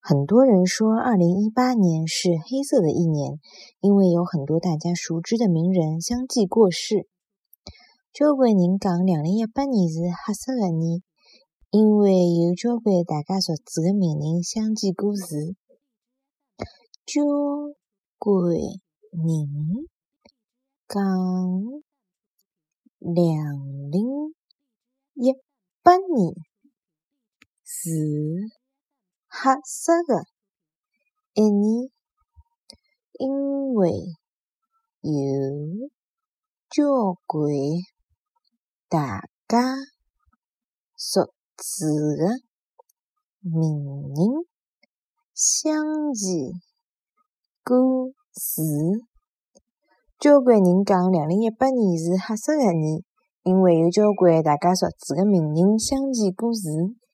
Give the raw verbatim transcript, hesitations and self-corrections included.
很多人说二零一八年是黑色的一年，因为有很多大家熟知的名人相继过世。交关人讲二零一八年是黑色的年，因为有交关大家熟知的名人相继过世。交关人讲二零一八年是黑色的一年，因为有交关大家熟知的名人相继过世。交关人讲二零一八年是黑色的年，因为有交关大家熟知的名人相继过世。